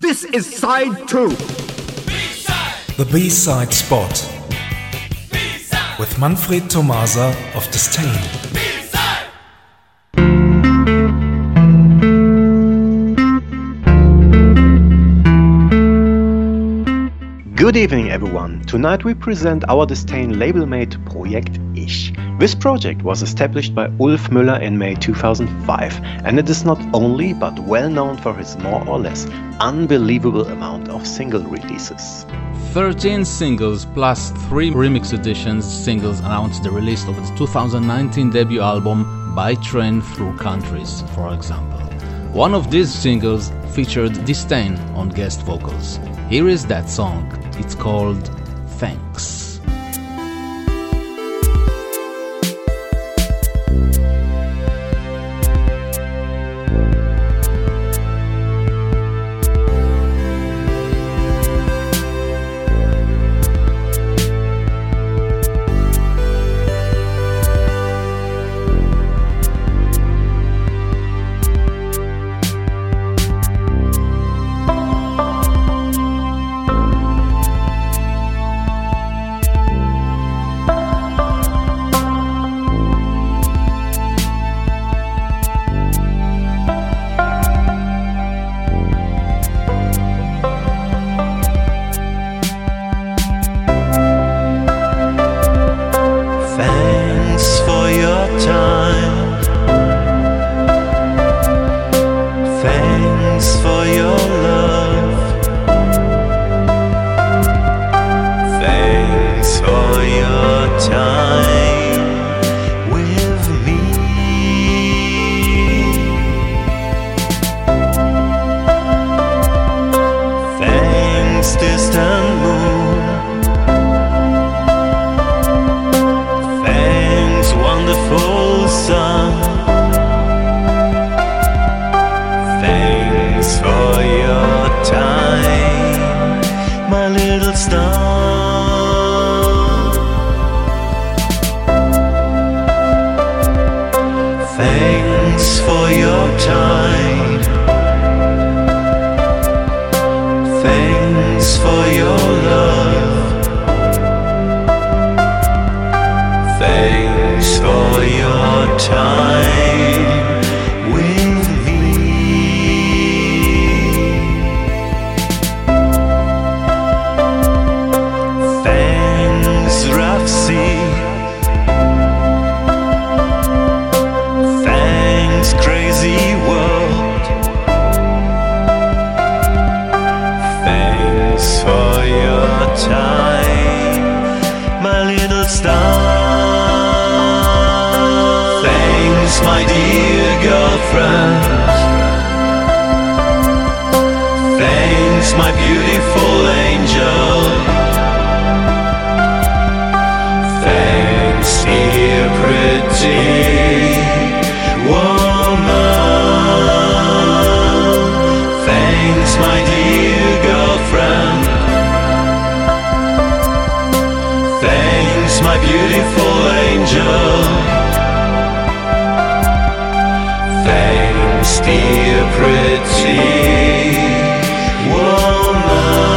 This is side 2. B-side. The B-side spot. B-side. With Manfred Tomasa of Disdain. Good evening, everyone. Tonight we present our Disdain label-mate Projekt Ich. This project was established by Ulf Müller in May 2005, and it is not only but well known for his more or less unbelievable amount of single releases. 13 singles plus 3 remix editions singles announced the release of its 2019 debut album By Train Through Countries, for example. One of these singles featured Disdain on guest vocals. Here is that song. It's called Thanks. Thanks for your time. Thanks for your love. Thanks for your time with me. Thanks, rough sea. Crazy world. Thanks for your time, my little star. Thanks, my dear girlfriend. Thanks, my beautiful angel. Thanks, dear pretty woman. Thanks, my dear girlfriend. Thanks, my beautiful angel. Thanks, dear pretty woman.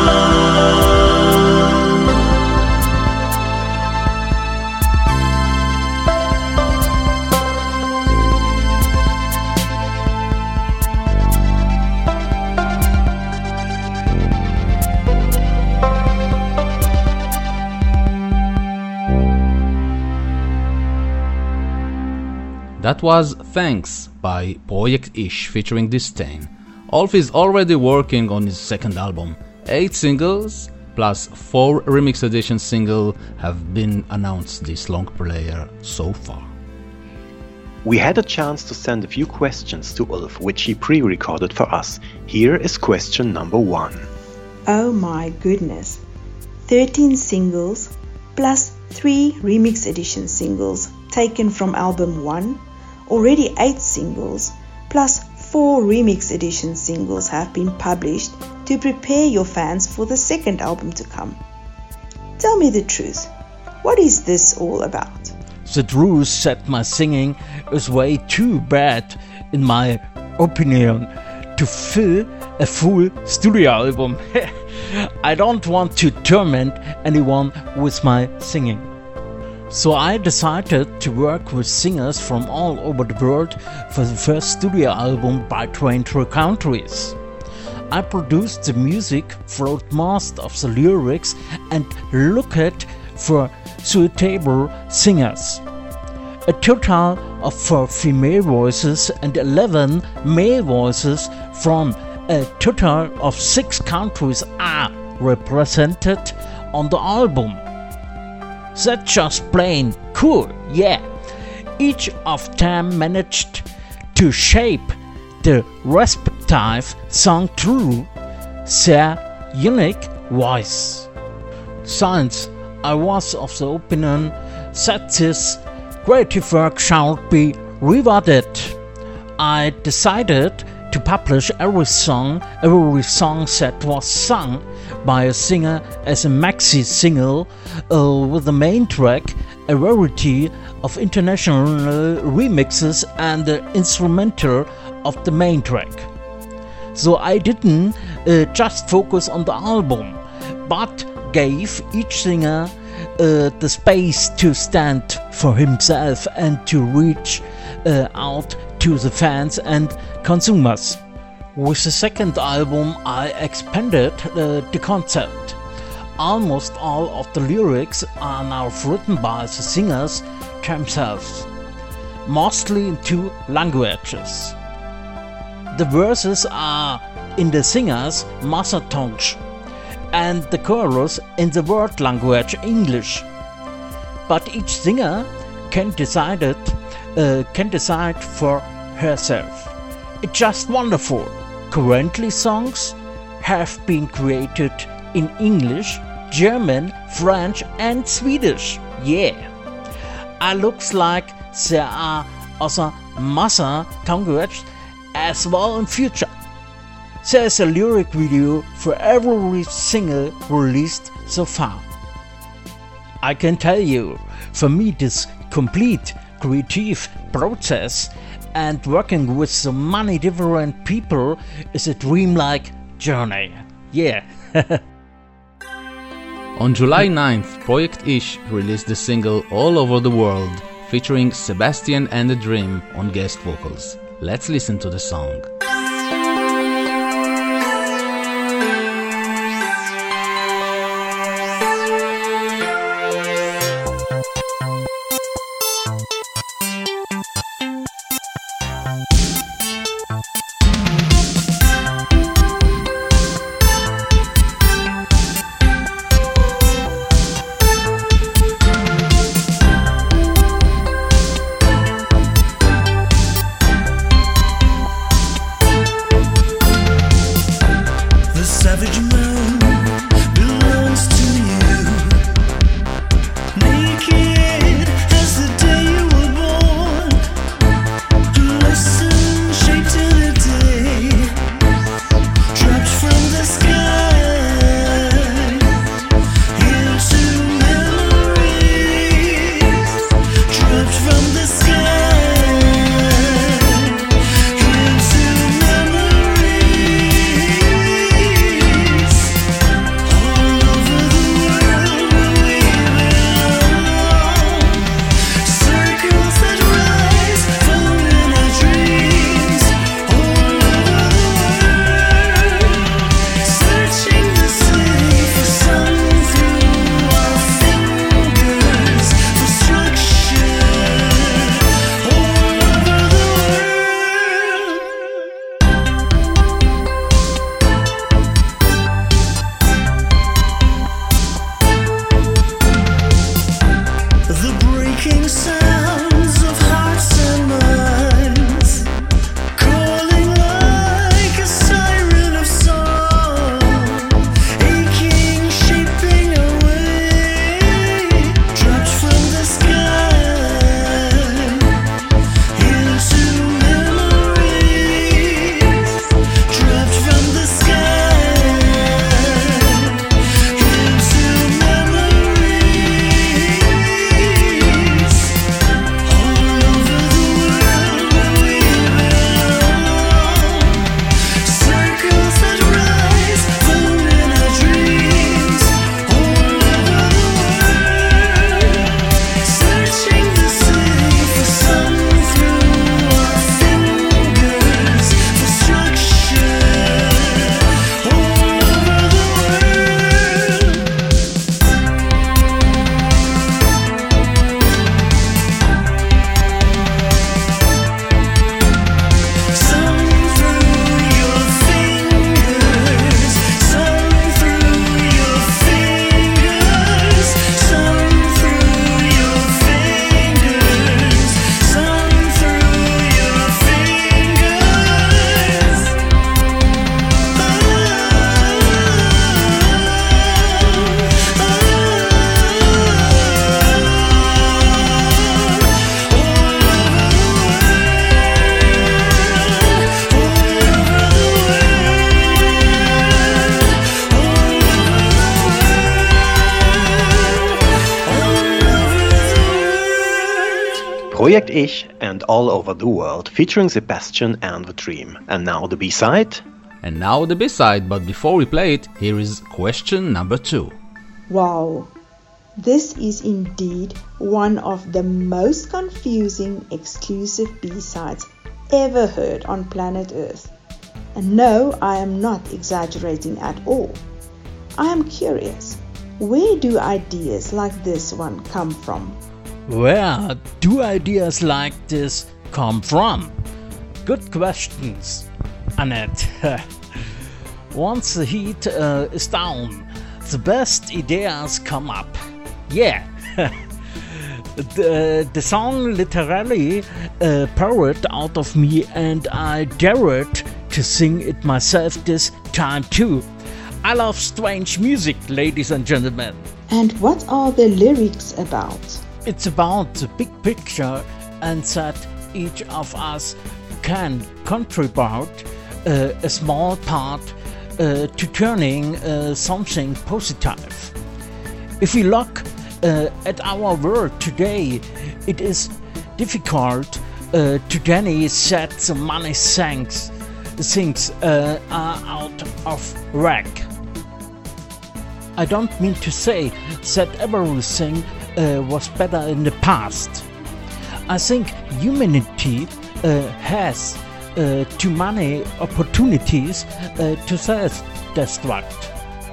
That was Thanks by Projekt Ich featuring Disdain. Ulf is already working on his second album. 8 singles plus 4 remix edition singles have been announced this long player so far. We had a chance to send a few questions to Ulf, which he pre-recorded for us. Here is question number 1. Oh my goodness. 13 singles plus 3 remix edition singles taken from album 1. Already 8 singles plus 4 remix edition singles have been published to prepare your fans for the second album to come. Tell me the truth. What is this all about? The truth said my singing is way too bad, in my opinion, to fill a full studio album. I don't want to torment anyone with my singing. So I decided to work with singers from all over the world for the first studio album by Train Through Countries. I produced the music, wrote most of the lyrics and looked for suitable singers. A total of 4 female voices and 11 male voices from a total of 6 countries are represented on the album. That's just plain cool, yeah. Each of them managed to shape the respective song through their unique voice. Since I was of the opinion that this creative work should be rewarded, I decided to publish every song that was sung by a singer as a maxi single with the main track, a variety of international remixes and the instrumental of the main track. So I didn't just focus on the album, but gave each singer the space to stand for himself and to reach out to the fans and consumers. With the second album I expanded the concept. Almost all of the lyrics are now written by the singers themselves, mostly in 2 languages. The verses are in the singer's mother tongue and the chorus in the word language English. But each singer can decide for herself. It's just wonderful. Currently songs have been created in English, German, French and Swedish. Yeah. It looks like there are other mother languages as well in future. There's a lyric video for every single released so far. I can tell you, for me this complete creative process and working with so many different people is a dreamlike journey. Yeah. On July 9th, Projekt Ich released the single All Over the World, featuring Sebastian and The Dream on guest vocals. Let's listen to the song. Projekt Ich and All Over the World, featuring Sebastian and The Dream. And now the B-side. And now the B-side, but before we play it, here is question number 2. Wow, this is indeed one of the most confusing exclusive B-sides ever heard on planet Earth. And no, I am not exaggerating at all. I am curious, where do ideas like this one come from? Where do ideas like this come from? Good questions, Annette. Once the heat is down, the best ideas come up. Yeah. The song literally poured out of me, and I dared to sing it myself this time too. I love strange music, ladies and gentlemen. And what are the lyrics about? It's about the big picture, and that each of us can contribute a small part to turning something positive. If we look at our world today, it is difficult to deny that the money things are out of whack. I don't mean to say that everything was better in the past. I think humanity has too many opportunities to self-destruct.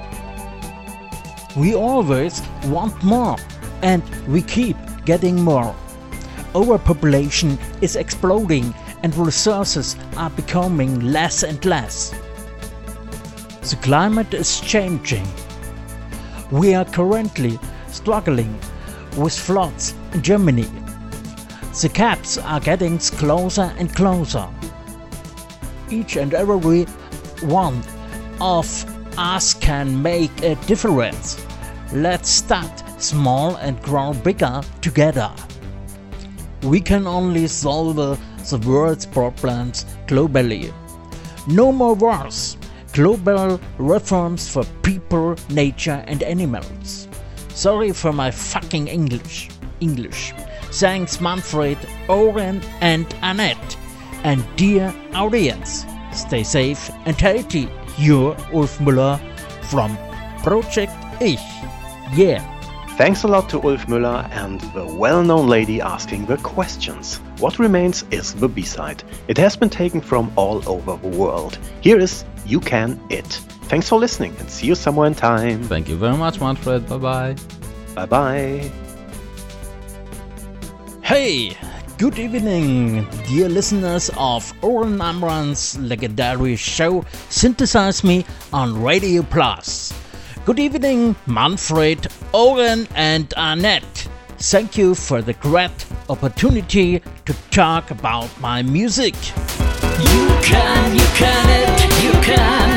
We always want more, and we keep getting more. Overpopulation is exploding, and resources are becoming less and less. The climate is changing. We are currently struggling with floods in Germany. The gaps are getting closer and closer. Each and every one of us can make a difference. Let's start small and grow bigger together. We can only solve the world's problems globally. No more wars. Global reforms for people, nature and animals. Sorry for my fucking English. Thanks Manfred, Oren and Annette. And dear audience, stay safe and healthy. You're Ulf Müller from Projekt Ich. Yeah. Thanks a lot to Ulf Müller and the well-known lady asking the questions. What remains is the B-side. It has been taken from all over the world. Here is You Can It. Thanks for listening and see you somewhere in time. Thank you very much, Manfred. Bye-bye. Bye-bye. Hey, good evening, dear listeners of Oren Amran's legendary show Synthesize Me on Radio Plus. Good evening, Manfred, Oren and Annette. Thank you for the great opportunity to talk about my music. You can it, you can.